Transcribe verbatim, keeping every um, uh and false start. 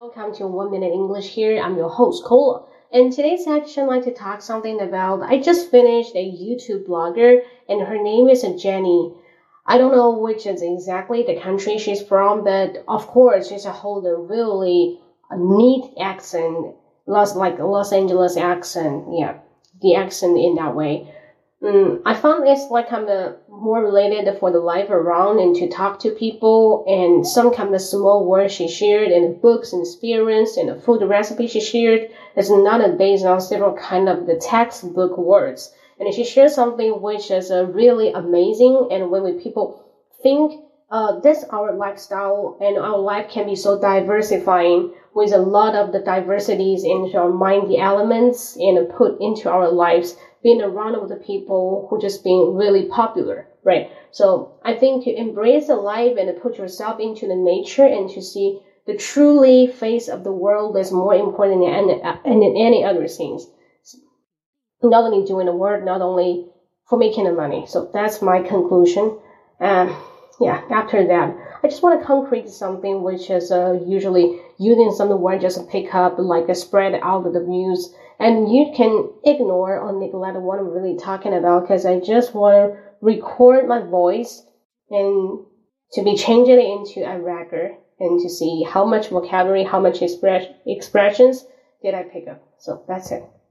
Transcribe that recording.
Welcome to One Minute English here. I'm your host, Cola. In today's section, I'd like to talk something about, I just finished a YouTube blogger and her name is Jenny. I don't know which is exactly the country she's from, but of course, she's a hold a really neat accent, Los, like a Los Angeles accent. Yeah, the accent in that way. Mm, I found it's like kind of more related for the life around and to talk to people and some kind of small words she shared and the books and experience and the food recipe she shared is not based on several kind of the textbook words. And she shared something which is uh, really amazing. And when we people think uh, that's our lifestyle and our life can be so diversifying with a lot of the diversities into our mind, the elements and put into our lives, being around with the people who just being really popular, right? So I think to embrace the life and to put yourself into the nature and to see the truly face of the world is more important than any, than any other things. Not only doing the work, not only for making the money. So that's my conclusion. Um, yeah, after that, I just want to concrete something which is uh, usually using some word just to pick up, like a spread out of the views. And you can ignore or neglect what I'm really talking about because I just want to record my voice and to be changing it into a record and to see how much vocabulary, how much express, expressions did I pick up. So that's it.